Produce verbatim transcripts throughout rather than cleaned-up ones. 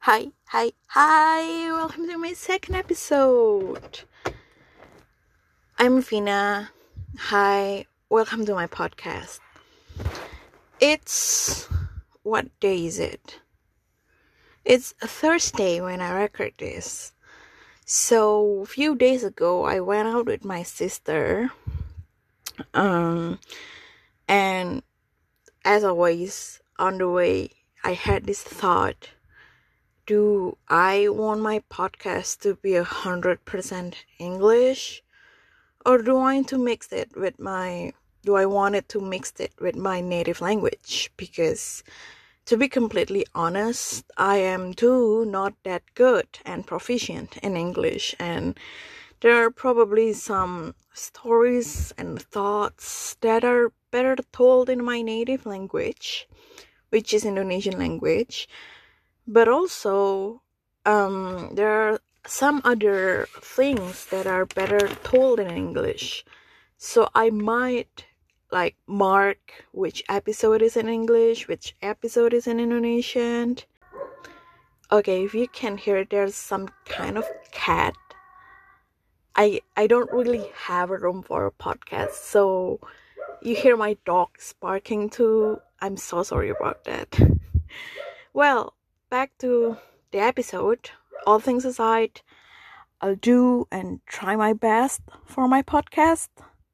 Hi, hi, hi! Welcome to my second episode. I'm Vina. Hi, welcome to my podcast. It's what day is it? It's a Thursday when I record this. So, a few days ago, I went out with my sister. Um, and as always, on the way, I had this thought. Do I want my podcast to be a hundred percent English, or do I want to mix it with my? Do I want it to mix it with my native language? Because, to be completely honest, I am too not that good and proficient in English, and there are probably some stories and thoughts that are better told in my native language, which is Indonesian language. But also, um, there are some other things that are better told in English. So I might like mark which episode is in English, which episode is in Indonesian. Okay, if you can hear, there's some kind of cat. I I don't really have a room for a podcast, so you hear my dogs barking too. I'm so sorry about that. Well, back to the episode. All things aside, I'll do and try my best for my podcast.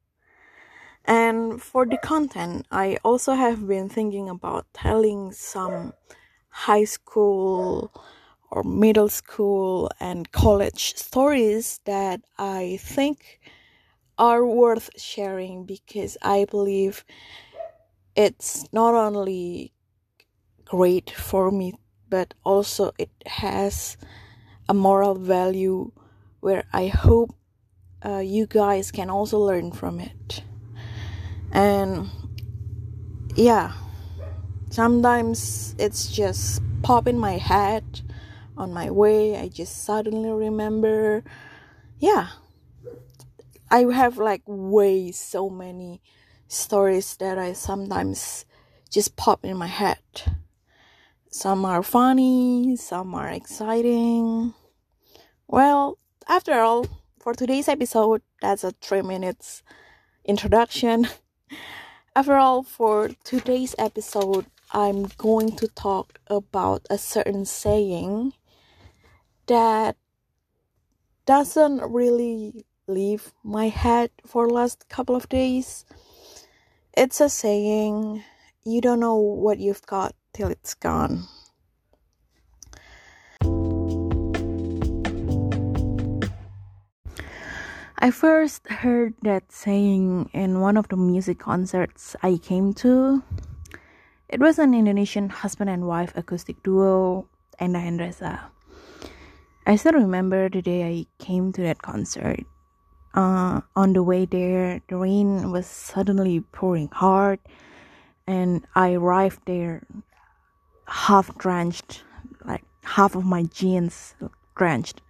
And for the content, I also have been thinking about telling some high school or middle school and college stories that I think are worth sharing, because I believe it's not only great for me, but also it has a moral value where I hope uh, you guys can also learn from it. And yeah, sometimes it's just pop in my head on my way. I just suddenly remember. Yeah, I have like way so many stories that I sometimes just pop in my head. Some are funny, some are exciting. Well, after all, for today's episode, that's a three minutes introduction. After all, for today's episode, I'm going to talk about a certain saying that doesn't really leave my head for last couple of days. It's a saying, you don't know what you've got till it's gone. I first heard that saying in one of the music concerts I came to. It was an Indonesian husband and wife acoustic duo, Enda and Reza. I still remember the day I came to that concert. Uh, on the way there, the rain was suddenly pouring hard, and I arrived there half drenched, like half of my jeans drenched.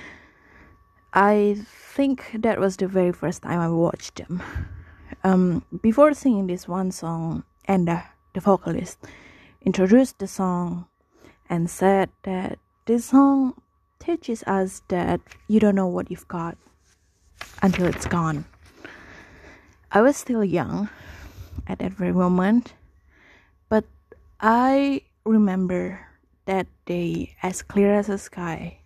I think that was the very first time I watched them. Um, before singing this one song, Enda, the vocalist, introduced the song and said that this song teaches us that you don't know what you've got until it's gone. I was still young at that very moment, but I remember that day as clear as the sky.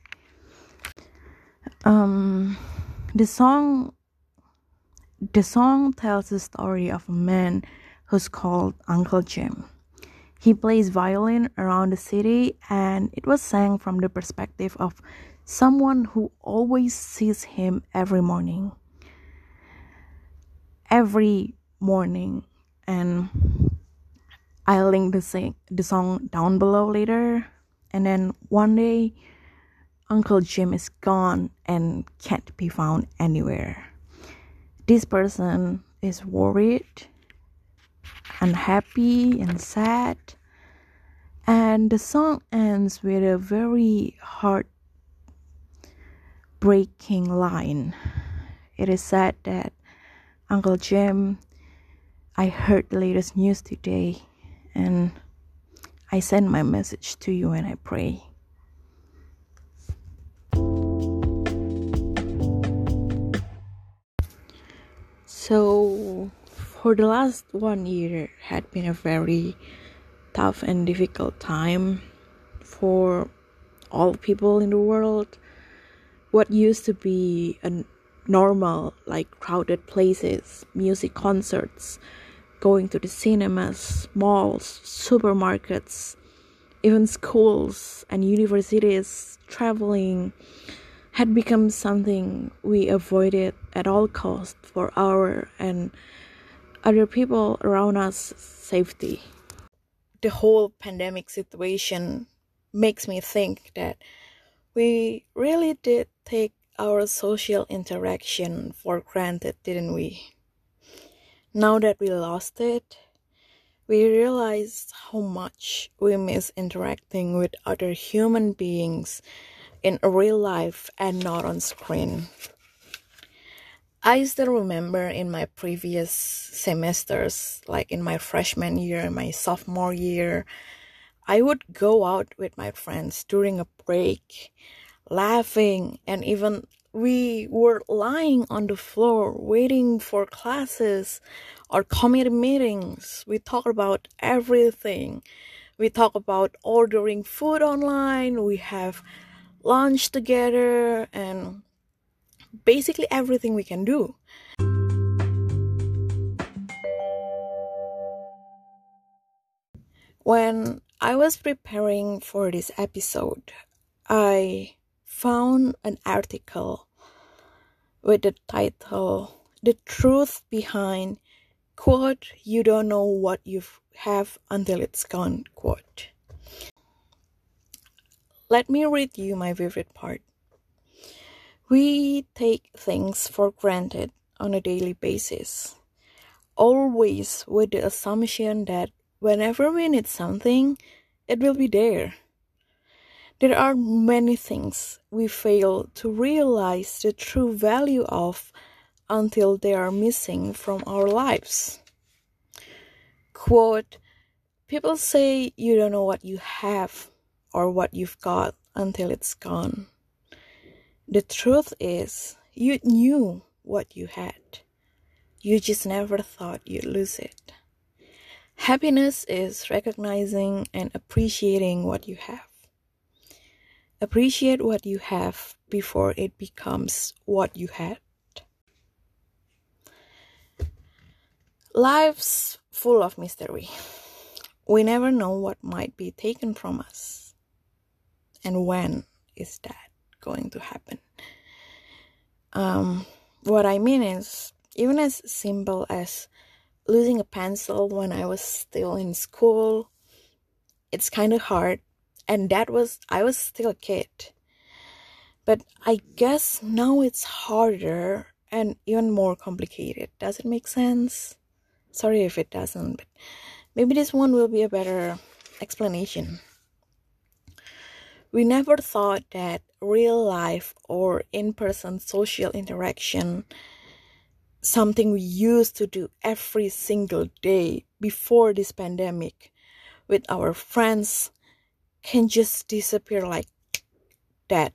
Um, the song, the song tells the story of a man who's called Uncle Jim. He plays violin around the city, and it was sang from the perspective of someone who always sees him every morning. Every morning. And I'll link the, sing- the song down below later. And then one day, Uncle Jim is gone and can't be found anywhere. This person is worried, unhappy, and sad. And the song ends with a very heart-breaking line. It is said that, Uncle Jim, I heard the latest news today, and I send my message to you and I pray. So, for the last one year had been a very tough and difficult time for all people in the world. What used to be a normal, like crowded places, music concerts, going to the cinemas, malls, supermarkets, even schools and universities, traveling, had become something we avoided at all costs for our and other people around us safety. The whole pandemic situation makes me think that we really did take our social interaction for granted, didn't we? Now that we lost it, we realized how much we miss interacting with other human beings in real life and not on screen. I still remember in my previous semesters, like in my freshman year and my sophomore year, I would go out with my friends during a break, laughing, and even we were lying on the floor waiting for classes or committee meetings. We talk about everything. We talk about ordering food online, we have lunch together, and basically everything we can do. When I was preparing for this episode, I found an article with the title "The Truth Behind quote you don't know what you have until it's gone" quote. Let me read you my favorite part. We take things for granted on a daily basis, always with the assumption that whenever we need something, it will be there. There are many things we fail to realize the true value of until they are missing from our lives. Quote, people say you don't know what you have or what you've got until it's gone. The truth is, you knew what you had. You just never thought you'd lose it. Happiness is recognizing and appreciating what you have. Appreciate what you have before it becomes what you had. Life's full of mystery. We never know what might be taken from us. And when is that going to happen? Um, what I mean is, even as simple as losing a pencil when I was still in school, it's kind of hard. And that was, I was still a kid. But I guess now it's harder and even more complicated. Does it make sense? Sorry if it doesn't, but maybe this one will be a better explanation. We never thought that real life or in-person social interaction, something we used to do every single day before this pandemic with our friends, can just disappear like that.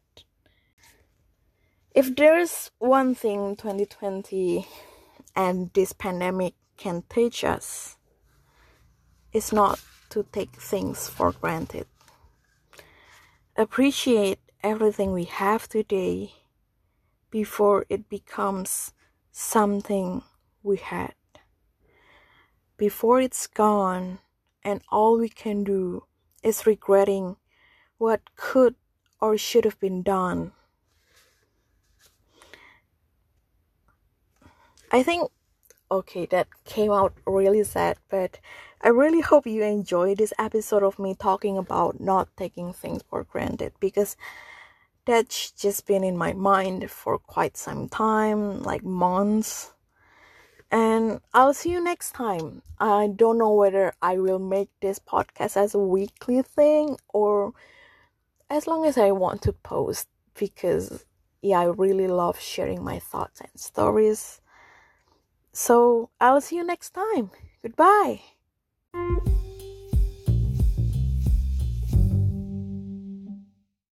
If there's one thing twenty twenty and this pandemic can teach us, it's not to take things for granted. Appreciate everything we have today before it becomes something we had. Before it's gone and all we can do is regretting what could or should have been done. I think, okay, that came out really sad, but I really hope you enjoyed this episode of me talking about not taking things for granted, because that's just been in my mind for quite some time, like months. And I'll see you next time. I don't know whether I will make this podcast as a weekly thing or as long as I want to post, because yeah, I really love sharing my thoughts and stories. So I'll see you next time. Goodbye.